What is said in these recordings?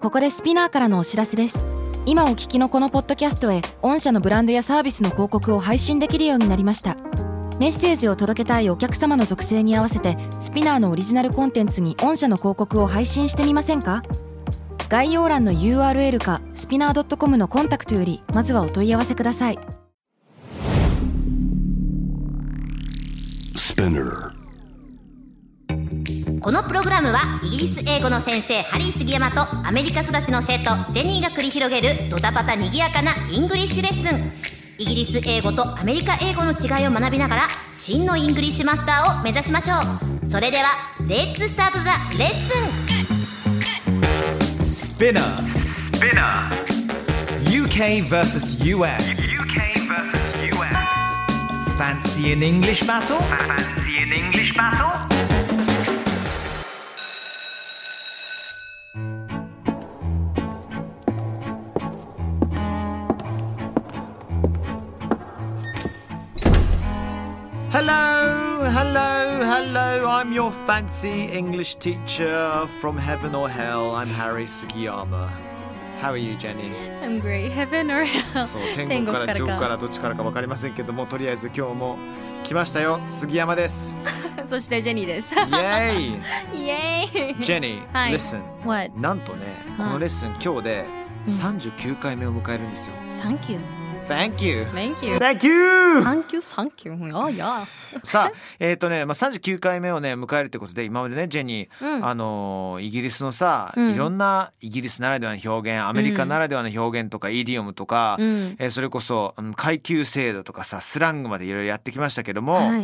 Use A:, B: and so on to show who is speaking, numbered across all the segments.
A: ここでスピナーからのお知らせです。今お聞きのこのポッドキャストへ御社のブランドやサービスの広告を配信できるようになりました。メッセージを届けたいお客様の属性に合わせてスピナーのオリジナルコンテンツに御社の広告を配信してみませんか？概要欄の URL かスピナー .com のコンタクトよりまずはお問い合わせください。
B: このプログラムはイギリス英語の先生ハリー杉山とアメリカ育ちの生徒ジェニーが繰り広げるドタパタにぎやかなイングリッシュレッスン。イギリス英語とアメリカ英語の違いを学びながら真のイングリッシュマスターを目指しましょう。それではレッツスタートザレッスン。
C: Spinner UK vs US Fancy an English battle? Hello, I'm your fancy English teacher from heaven or hell. I'm Harry Sugiyama. How are you, Jenny?
D: I'm great. Heaven or hell?
C: そう、天国から地獄からどっちからか分かりませんけども、とりあえず今日も来ましたよ、杉山です。
D: そしてジェニーです。
C: イェイ
D: イエーイ。
C: ジェニー、
D: はい、
C: listen.
D: What?
C: なんとね、このレッスン今日で39回目を迎えるんですよ。
D: Thank you.
C: Thank you.
D: Thank you.
C: Thank you.
D: Thank you. Oh, yeah.
C: さあ、39回目をね迎えるってことで、今までねジェニー、イギリスのさ、いろんなイギリスならではの表現、アメリカならではの表現とか、イディオムとか、それこそ階級制度とかさ、スラングまでいろいろやってきましたけども、
D: はい、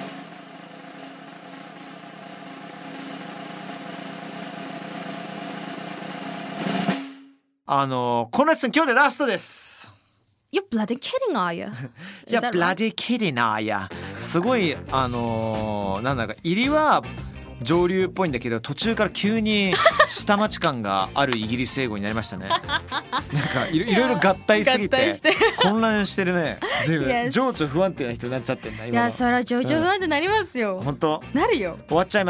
C: このレッスン今日でラストです。
D: You're bloody kidding, are you?
C: いや、bloody kidding are ya。すごいなんだか入りは上流っぽいんだけど、途中から急に下町感があるイギリス英語になりましたね。なんかいろいろ合体すぎて混乱してるね。随分情緒不安定な人になっちゃってんな今の。
D: いや、それは情緒不安定になりますよ。
C: 本当
D: なるよ。
C: 終わっちゃいます。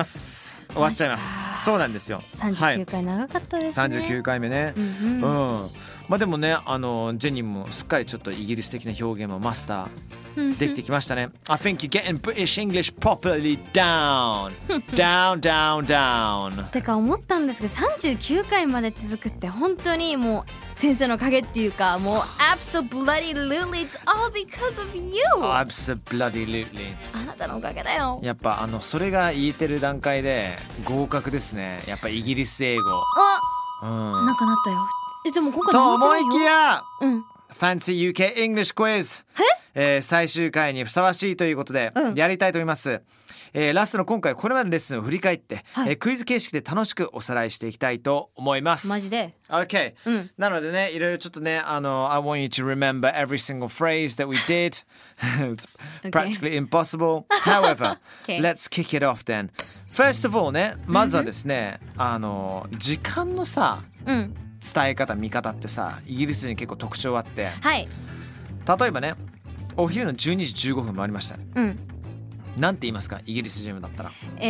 C: そうなんですよ。
D: 39回長かったですね。
C: 39回目ね。まあでもね、ジェニーもすっかりちょっとイギリス的な表現もマスターできてきましたね。I think you're getting British English properly down. down.
D: てか思ったんですけど、39回まで続くって本当にもう先生のおかげっていうか、もう absolutely it's all because of you.
C: Absolutely.
D: あなたのおかげだよ。
C: やっぱそれが言えてる段階で合格ですね。やっぱイギリス英語。
D: なんかなったよ。でも今回
C: と思いきや、Fancy UK English Quiz、最終回にふさわしいということで、やりたいと思います。ラストの今回これまでのレッスンを振り返って、クイズ形式で楽しくおさらいしていきたいと思います。
D: マジで
C: OK、なのでね、いろいろちょっとね、I want you to remember every single phrase that we did. It's practically impossible. However, let's kick it off then. First of all ね、まずはですね、時間のさ、伝え方見方ってさ、イギリス人結構特徴あって、例えばね、お昼の12時15分もありました、なんて言いますか、イギリス人だったら。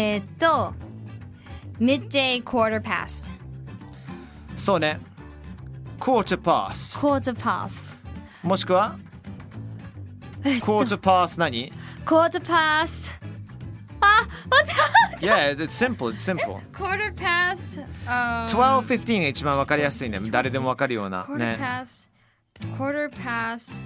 D: midday quarter past。
C: そうね、quarter past もしくはquarter past 何？
D: quarter past
C: Yeah, it's simple.
D: quarter past
C: 12:15 が一番わかりやすいね。誰でもわかるようなね。
D: quarter past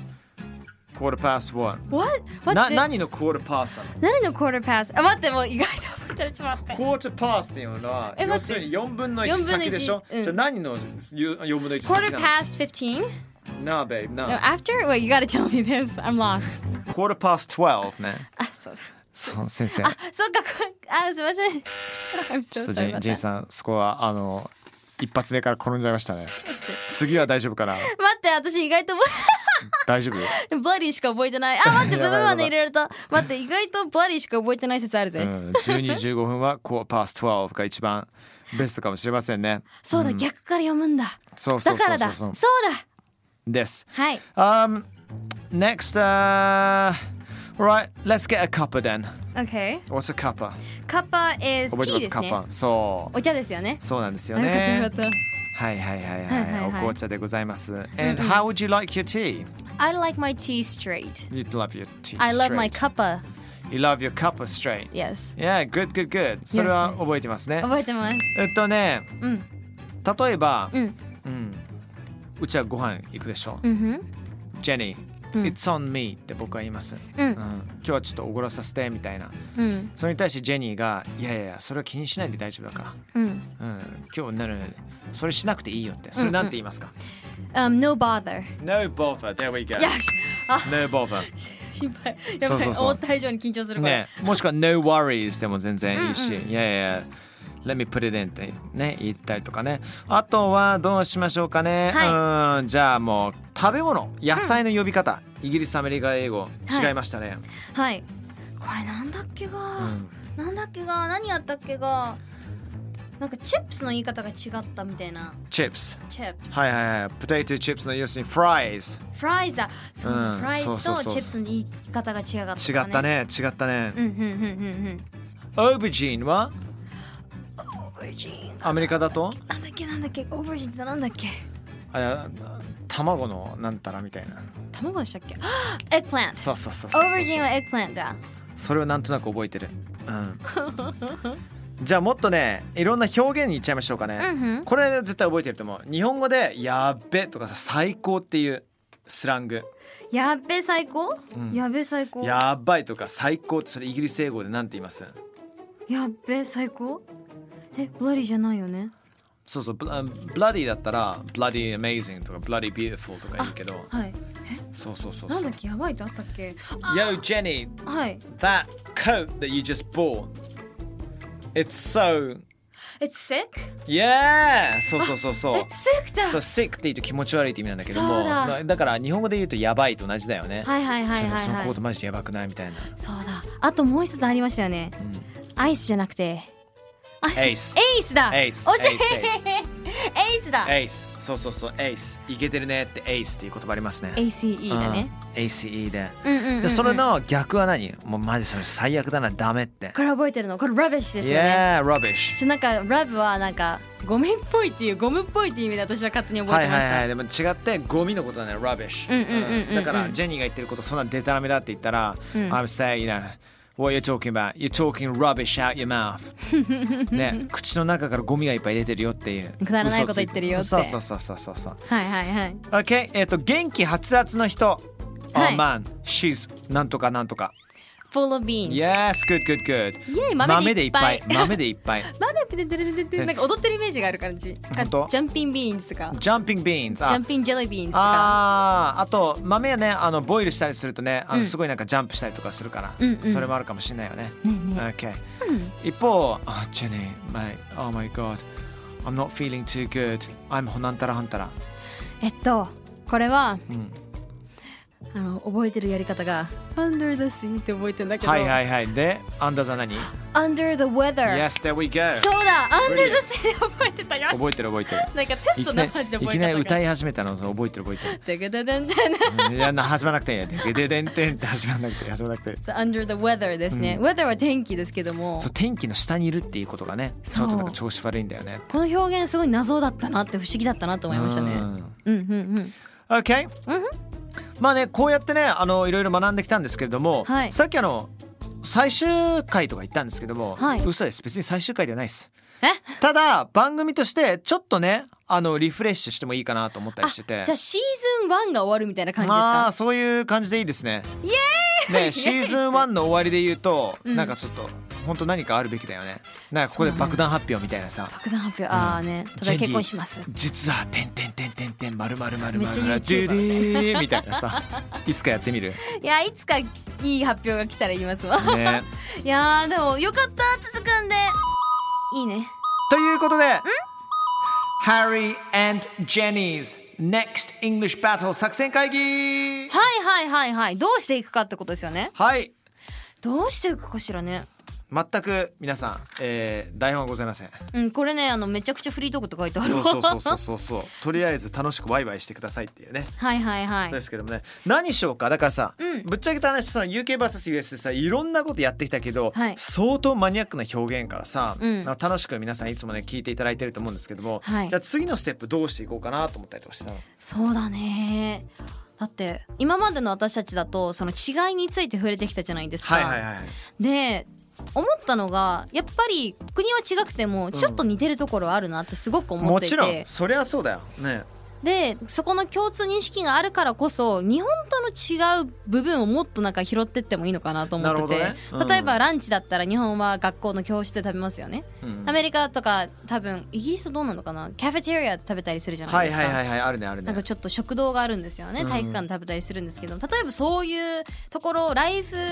C: what？何の quarter past なの？
D: 何の quarter past？ 待って、もう意外と覚えてる。ちょっと待って。
C: quarter past っていうのは要するに4分の1先でしょ。じゃあ何の4分の1先なの？
D: quarter past 15?
C: No, babe, no.
D: After? Wait, you gotta tell me this. I'm lost.
C: quarter past 12ね。
D: そうだ。
C: そう、先生。
D: そっか。すいません。
C: ちょっとジェイさん、そこは一発目から転んじゃいましたね。次は大丈夫かな？
D: 待って、私意外と
C: 大丈夫？
D: ブラディしか覚えてない。待って、ブブまで入れられた。待って、意外とブラディしか覚えてない説あるぜ。
C: 12時15分はquarter past 12が一番ベストかもしれませんね。
D: そうだ、逆から読むんだ。
C: そう
D: だからだ。そうだ。
C: です。
D: はい。
C: Next, right, let's get a cuppa then.
D: Okay.
C: What's a cuppa?
D: Cuppa is
C: 覚えてます
D: tea ですね。
C: そう。
D: お茶ですよね。
C: そうなんですよね。 はいはいはいはい。お紅茶でございます。And how would you like your tea?
D: I like my tea straight.
C: You love your tea straight.
D: I love my cuppa.
C: You love your cuppa straight.
D: Yes.
C: Yeah, good, good, good. それは覚えてますね。
D: 覚えてます。
C: ね、例えば、
D: うん
C: うちはご飯行くでしょ。ジェニー、It's on me って僕は言います。今日はちょっとおごらさせてみたいな。それに対してジェニーが、いやいや、それは気にしないで大丈夫だから。今日それしなくていいよって。それなんて言いますか
D: ？No bother.
C: No bother. There we go.
D: よし。
C: No bother.
D: 心配。やばい。思った以上に緊張するから。
C: ね、もしくは No worries でも全然いいし、いやいや。Let me put it in ってね言ったりとかね。あとはどうしましょうかね。じゃあもう食べ物、野菜の呼び方、イギリス、アメリカ、英語違いましたね。
D: はい。これなんだっけが、何やったっけが、なんかチップスの言い方が違ったみたいな。
C: チップス。はいはいはい。ポテトチップスの要するにフライズ。
D: フライズだ。そう、フライズとチップスの言い方が違かったね。
C: 違ったね。オーバージーンは？アメリカだと
D: なんだっけオーバージーンってなんだっけ
C: 卵のなんたらみたいな
D: 卵でしたっけエッグプラント
C: そう
D: オーバージーンはエッグプラントだ
C: それをなんとなく覚えてる、じゃあもっとねいろんな表現にいっちゃいましょうかね、これ絶対覚えてると思う日本語でやっべとかさ最高っていうスラング
D: やっべ最高、やっべ最高
C: やばいとか最高ってそれイギリス英語でなんて言います
D: やっべ最高ブラディじゃないよね
C: そうそうブラディだったらブラディ amazing とかブラディ beautiful とか言うけど
D: はい
C: そう
D: なんだっけやばいってあったっけ
C: Yo Jenny
D: はい
C: that coat that you just bought it's so
D: It's sick?
C: Yeah そう
D: It's sick だ
C: そう sick って言うと気持ち悪いって意味なんだけどもだから日本語で言うとやばいと同じだよねそのコートマジでやばくないみたいな
D: そうだあともう一つありましたよね、アイスじゃなくて
C: エイス
D: だ
C: エイス
D: エイスだ
C: エイスそうエイスいけてるねってエイスっていう言葉ありますね
D: ACE だね、
C: ACE でじゃそれの逆は何もうマジそれ最悪だなダメって
D: これ覚えてるのこれ rubbish ですよね
C: Yeah rubbish
D: なんか rub はなんかゴミっぽいっていうゴムっぽいっていう意味で私は勝手に覚えてました
C: でも違ってゴミのことだね rubbish だからジェニーが言ってることそんなデタラメだって言ったら I'm saying What you're talking about? You're talking rubbish out your mouth ね、口の中からゴミがいっぱい出てるよっていう
D: くだらないこと言ってるよって
C: そう
D: はい
C: OK 元気はつらつの人 Oh man she's なんとか
D: Full of beans
C: Yes good 豆でいっぱい豆で
D: なんか踊ってるイメージがある感じジャンピンビーンズとか
C: ジャンピンジ
D: ェリービーンズとか
C: あと豆はねボイルしたりするとねすごいなんかジャンプしたりとかするからそれもあるかもしれないよねOK 一方ジェニーOh my god I'm not feeling too good I'm なんたら
D: これは覚えてるやり方が Under the sea って覚えてんだけど
C: はいで Under the 何
D: Under the weather
C: Yes there we go
D: そうだ Under the sea で覚えてたよ
C: 覚えてるなんか
D: テストのマジで覚えてた
C: いきなり歌い始めたの覚えてる
D: デゲデデンテン
C: いや始まらなくていいやデゲデデンテンって始まらなくて
D: Under the weather ですね weather は天気ですけども
C: そう天気の下にいるっていうことがねちょっとなんか調子悪いんだよね
D: この表現すごい謎だったなって不思議だったなと思いましたね
C: OK まあねこうやってねいろいろ学んできたんですけれども、さっき最終回とか言ったんですけども、嘘です別に最終回ではないですただ番組としてちょっとねリフレッシュしてもいいかなと思ったりしてて
D: じゃあシーズン1が終わるみたいな感じですか
C: そういう感じでいいですね
D: イエーイ
C: ねシーズン1の終わりで言うと、なんかちょっと本当何かあるべきだよねなんかここで爆弾発表みたいなさ
D: 爆弾発表ね例えば結婚します
C: 実はてんてんてんてんてん丸々
D: めっちゃ YouTuber
C: みたいなさいつかやってみる
D: いやいつかいい発表が来たら言いますわ
C: ね
D: いやでもよかった続くんでいいね
C: ということでHarry and Jenny's Next English Battle 作戦会議
D: はいどうしていくかってことですよね
C: はい
D: どうしていくかしらね
C: 全く皆さん、台本はございません。
D: これねめちゃくちゃフリートークって書いてある。
C: そうとりあえず楽しくワイワイしてくださいっていうね。
D: はい
C: ですけどもね、何しようか。だからさ、ぶっちゃけた話、その UKVS US でさいろんなことやってきたけど、相当マニアックな表現からさ、楽しく皆さんいつもね聞いていただいてると思うんですけども、じゃあ次のステップどうしていこうかなと思ったりとかしたの。
D: そうだね。だって今までの私たちだとその違いについて触れてきたじゃないですか。で思ったのがやっぱり国は違くてもちょっと似てるところあるなってすごく思っていて、
C: もちろんそりゃそうだよね。
D: でそこの共通認識があるからこそ日本との違う部分をもっとなんか拾ってってもいいのかなと思ってて、例えばランチだったら日本は学校の教室で食べますよね、アメリカとか多分イギリスどうなのかな、カフェテリアで食べたりするじゃないですか。
C: あるね。なん
D: かちょっと食堂があるんですよね、体育館で食べたりするんですけど、例えばそういうところライフ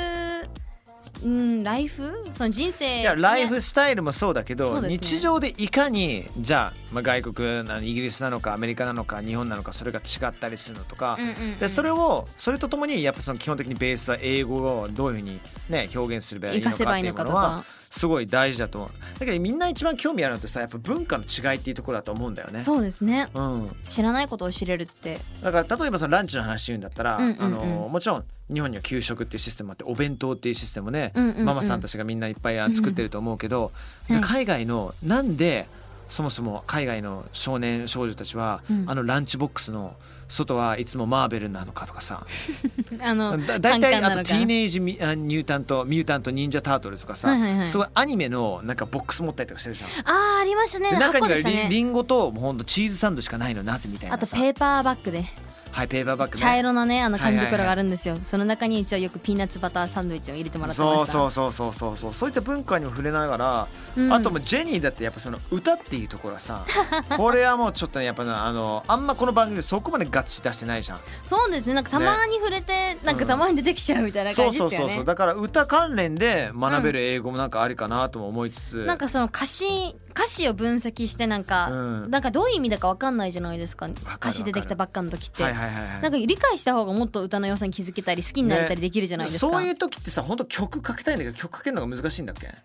D: その人生、
C: いやライフスタイルもそうだけど、日常でいかにじゃあ、外国イギリスなのかアメリカなのか日本なのかそれが違ったりするのとか、でそれとともにやっぱその基本的にベースは英語をどういうふうに、ね、表現すればいいのかっていうものはすごい大事だと思う。だけどみんな一番興味あるのってさ、やっぱ文化の違いっていうところだと思うんだよね。
D: そうですね、知らないことを知れるって。
C: だから例えばそのランチの話言うんだったら、もちろん日本には給食っていうシステムあってお弁当っていうシステムもね、ママさんたちがみんないっぱい作ってると思うけど、じゃあ海外のなんでそもそも海外の少年少女たちは、ランチボックスの外はいつもマーベルなのかとかさだいたいあとティーネイジミュータント忍者タートルズとかさ、すごいアニメのなんかボックス持ったりとかしてるじゃん。
D: ありましたね。
C: 中にはリンゴとほんとチーズサンドしかないのなぜみたいなさ。
D: あとペーパーバッグで
C: ペーパーバッグね、
D: 茶色のね紙袋があるんですよ、その中に一応よくピーナッツバターサンドイッチを入れてもらってました。
C: そういった文化にも触れながら、あともジェニーだってやっぱその歌っていうところはさこれはもうちょっとねやっぱあんまこの番組でそこまでガッチ出してないじゃん。
D: そうですね、なんかたまに触れて、なんかたまに出てきちゃうみたいな感じですよね。
C: そうだから歌関連で学べる英語もなんかありかなとも思いつつ、
D: なんかその歌詞を分析してなんかどういう意味だか分かんないじゃないですか。歌詞出てきたばっかの時ってなんか理解した方がもっと歌の良さに気づけたり好きになれたりできるじゃないですか、
C: そういう時ってさ本当曲書きたいんだけど曲書けるのが難しいんだっけ。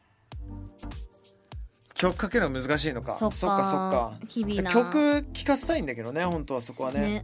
C: 曲書けるのが難しいのか。そっか曲聴かせたいんだけどね本当はそこはね。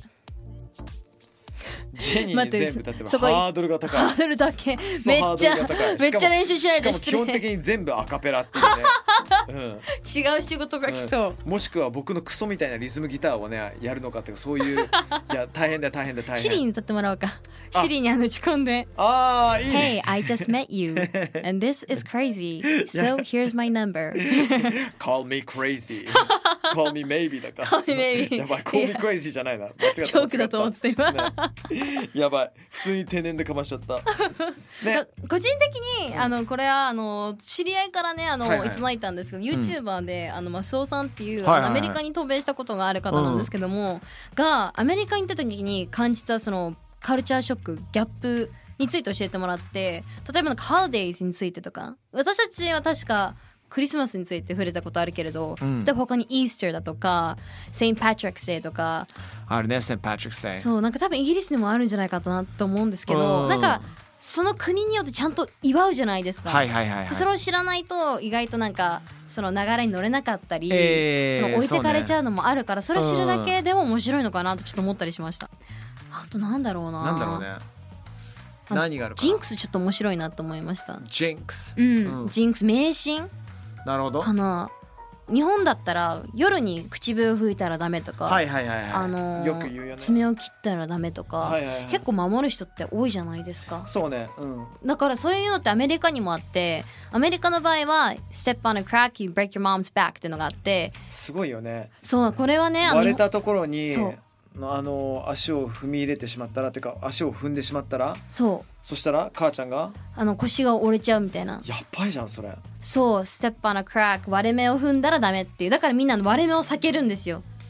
C: ジェニーに全部だってハードルが高い。
D: ハードルだけめっちゃ練習しないと。
C: しかも基本的に全部アカペラっていうね、
D: 違う仕事が来そう。
C: もしくは僕のクソみたいなリズムギターをねやるのかっていうそういういや大変だシ
D: リーに歌ってもらおうか。シリーに打ち込んで、
C: いいね。
D: Hey, I just met you and this is crazy, so here's my number.
C: Call me crazy. Call me maybe だから。
D: Call me maybe.
C: やばい、Call me crazy じゃないな。間違った。
D: ジョークだと思ってた今。
C: やばい、普通に天然でかましちゃった。
D: ね、個人的にこれは知り合いからねいただいたんですけど、YouTuber でマスオさんっていうアメリカに渡米したことがある方なんですけども、がアメリカに行った時に感じたそのカルチャーショックギャップについて教えてもらって、例えばなんかハロデイズについてとか、私たちは確かクリスマスについて触れたことあるけれど、例えば他にイースターだとかセイン・パトリックスデーとか
C: あるね。セイン・パトリックスデー、
D: そうなんか多分イギリスにもあるんじゃないかなと思うんですけど、なんかその国によってちゃんと祝うじゃないですか。それを知らないと意外となんかその流れに乗れなかったり、その置いてかれちゃうのもあるから、それ知るだけでも面白いのかなとちょっと思ったりしました。あとなんだろうね。何があるかな。ジンクスちょっと面白いなと思いました。
C: ジンクス、
D: ジンクス迷信
C: なるほど
D: かな。日本だったら夜に口笛を吹いたらダメとか、
C: よく言うよね。
D: 爪を切ったらダメとか、結構守る人って多いじゃないですか。
C: そうね、
D: だからそういうのってアメリカにもあって、アメリカの場合は Step on a crack, you break your mom's back っていうのがあって、
C: すごいよね。
D: そうこれはね、
C: 割れたところに足を踏み入れてしまったらっていうか足を踏んでしまったら、そしたら母ちゃんが
D: 腰が折れちゃうみたいな。
C: やっばいじゃんそれ。
D: そう Step on a crack 割れ目を踏んだらダメっていう。だからみんな割れ目を避けるんですよ。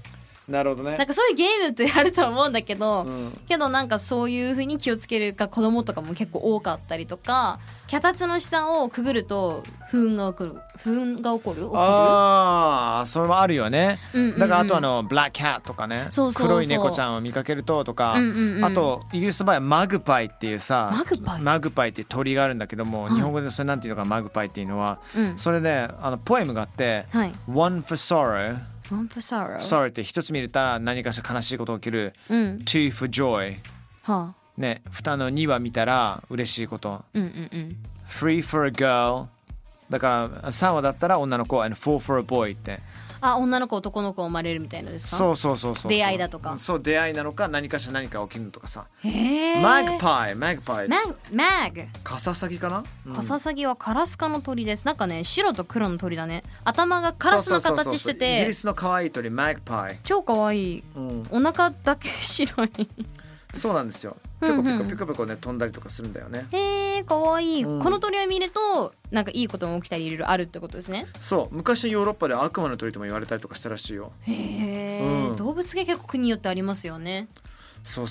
C: なるほどね。
D: なんかそういうゲームってあると思うんだけど、
C: うん、
D: けどなんかそういう風に気をつけるか子供とかも結構多かったりとか、脚立の下をくぐると不運が起きる。
C: ああ、それもあるよね、
D: うんうんうん、
C: だからあとブラックキャットとかね、
D: そうそうそう、
C: 黒い猫ちゃんを見かけるととか、
D: うんうんうん、
C: あとイギリスの場合はマグパイっていうさ、マグパイっていう鳥があるんだけども、日本語でそれなんていうのか、マグパイっていうのは、うん、それでポエムがあって、はい、One for sorrow、sorrow って一つ見れたら何かしら悲しいことが起きる、うん、Two for joy、はあ、ね、2は見たら嬉しいこと、うんうんうん、Three for a girl、 だから3話だったら女の子 and four for a boy って、
D: 女の子男の子生まれるみたいなですか？そう
C: 出
D: 会いだとか、
C: そう出会いなのか何かしら何か起きるとかさ。
D: マグ
C: パイ
D: カ
C: ササギかな、
D: カササギはカラス科の鳥です。なんかね、白と黒の鳥だね。頭がカラスの形してて、
C: イギリスの可愛い鳥マグパイ、
D: 超可愛い、うん、お腹だけ白い
C: そうなんですよ。ピコピコピコピコね、飛んだりとかするんだよね。
D: かわいい、うん、この鳥を見るとなんかいいことも起きたりいろいろあるってことですね。
C: そう、昔のヨーロッパで悪魔の鳥とも言われたりとかしたらしいよ。
D: うん、動物が結構国によってありますよね。
C: そう、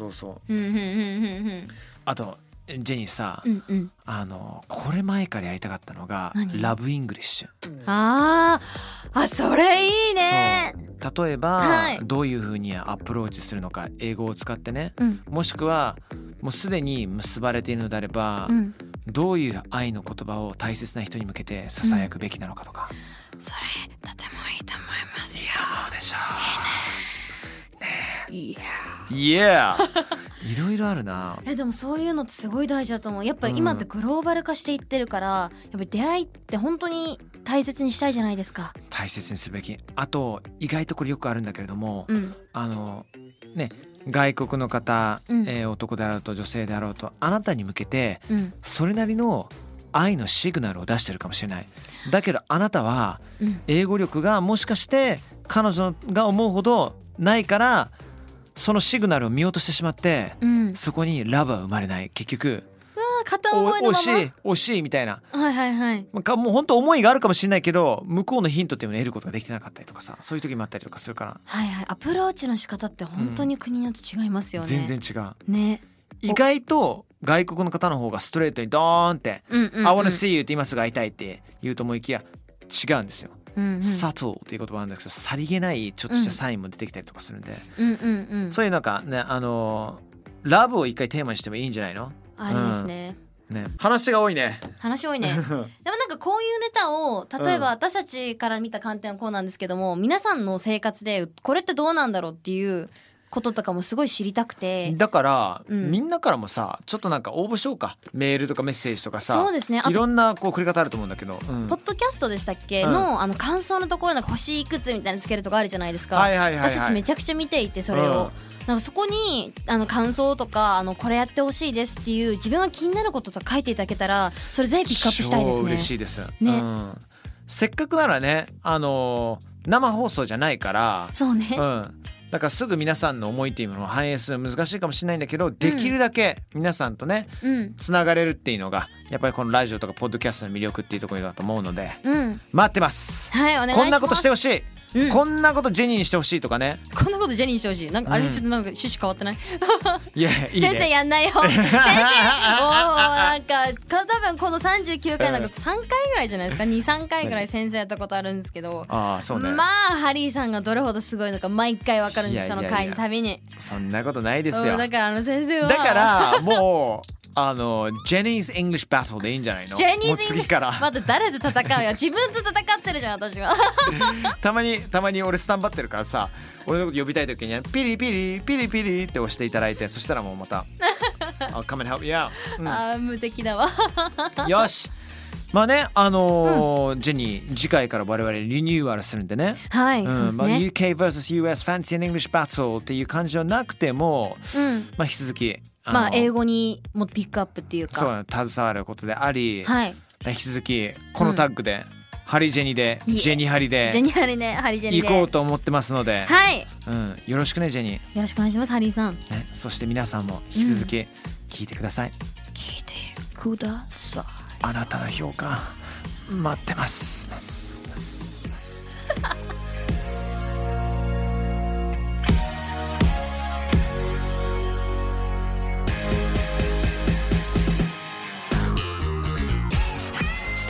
C: あとジェニーさ、うんうん、これ前からやりたかったのがラブイングリッシュ。それいいね。 例えば、はい、どういうふうにアプローチするのか、英語を使ってね、うん、もしくはもうすでに結ばれているのであれば、うん、どういう愛の言葉を大切な人に向けてささやくべきなのかとか、
D: うん、それとてもいいと思いますよ。いい
C: と思うでしょ
D: うね。
C: いやいろいろあるな。
D: でもそういうのってすごい大事だと思う。やっぱり今ってグローバル化していってるから、やっぱり出会いって本当に大切にしたいじゃないですか。
C: 大切にすべき。あと意外とこれよくあるんだけれども、うん、ね、外国の方、うん、男であろうと女性であろうと、あなたに向けて、うん、それなりの愛のシグナルを出してるかもしれない。だけどあなたは英語力がもしかして彼女が思うほどないから、そのシグナルを見落としてしまって、うん、そこにラブは生まれない。結局
D: 片思いのまま
C: 惜しいみたいな、
D: はいはいはい、
C: もう本当思いがあるかもしれないけど、向こうのヒントっていうのを得ることができてなかったりとかさ、そういう時もあったりとかするから、
D: はいはい、アプローチの仕方って本当に国によって違いますよね、
C: 全然違う
D: ね。
C: 意外と外国の方の方がストレートにドーンって、うんうんうん、I wanna see you って今すぐ会いたいって言うと思いきや違うんですよ、うんうん、サトルっていう言葉なんですけど、さりげないちょっとしたサインも出てきたりとかするんで、うんうんうんうん、そういうなんかね、ラブを一回テーマにしてもいいんじゃないの？
D: ありですね、
C: ね、話が多いね
D: でもなんかこういうネタを例えば私たちから見た観点はこうなんですけども、皆さんの生活でこれってどうなんだろうっていうこととかもすごい知りたくて、
C: だから、みんなからもさ、ちょっとなんか応募しようか。メールとかメッセージとかさ、
D: そうですね、
C: いろんなこう送り方あると思うんだけど、ポ
D: ッドキャストでしたっけ、の感想のところなんか星いくつみたいなつけるとかあるじゃないですか、私たちめちゃくちゃ見ていて、それを、なんかそこに感想とかこれやってほしいですっていう自分が気になることとか書いていただけたら、それぜひピックアップしたいですね。
C: 超嬉しいですね、せっかくならね、生放送じゃないから、
D: そうね、
C: だからすぐ皆さんの思いっていうものを反映するのは難しいかもしれないんだけど、できるだけ皆さんとね、つながれるっていうのがやっぱりこのラジオとかポッドキャストの魅力っていうところだと思うので、待ってます。
D: はい、お願いします。
C: こんなことしてほしい、こんなことジェニーにしてほしいとかね。
D: こんなことジェニーにしてほしい。なんかあれちょっとなんか趣旨変わってない？
C: いや、いいね。
D: 先生やんないよ。先生、なんか多分この39回なんか3回ぐらいじゃないですか。2、3回ぐらい先生やったことあるんですけど、
C: そうね、
D: まあハリーさんがどれほどすごいのか毎回わかるんです。その回のたびに。
C: そんなことないですよ。
D: だから先生は。
C: だからもう。ジェニーズ・イングリッシュ・バトルでいいんじゃないの？
D: ジェニーズ・イングリッシュからまだ誰で戦うよ。自分と戦ってるじゃん、私は。
C: たまに俺スタンバってるからさ、俺のこと呼びたい時にピリピリピリピリって押していただいて、そしたらもうまたI'll come and help you out、
D: 無敵だわ。
C: よし、まあね、ジェニー次回から我々リニューアルするんでね、
D: はい、そうですね、
C: UK vs.US Fancy and English Battle っていう感じじゃなくても、まあ引き続き
D: 英語にもピックアップっていうか、
C: そう携わることであり、
D: はい、
C: 引き続きこのタッグで、ハリジェニでジェニハリで行こうと思ってますので、
D: はい、
C: よろしくねジェニー。
D: よろしくお願いします、ハリーさん、
C: ね、そして皆さんも引き続き聞いてください、
D: 聞いてください。
C: あなたの評価待ってます。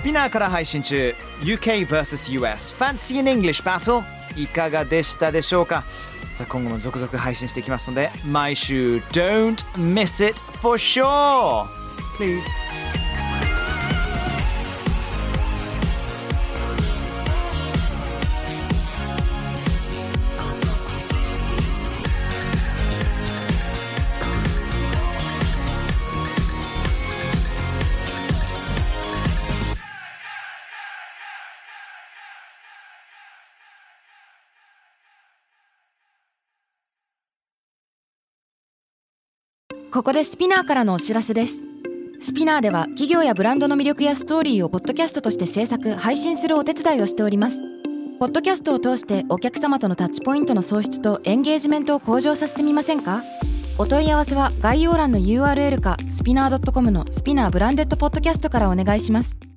C: ピナーから配信中 UK vs.US Fancy in English Battle いかがでしたでしょうか。さあ今後も続々配信していきますので毎週 Don't miss it for sure Please
A: ここでスピナーからのお知らせです。スピナーでは企業やブランドの魅力やストーリーをポッドキャストとして制作・配信するお手伝いをしております。ポッドキャストを通してお客様とのタッチポイントの創出とエンゲージメントを向上させてみませんか？お問い合わせは概要欄の URL かスピナー .com のスピナーブランデッドポッドキャストからお願いします。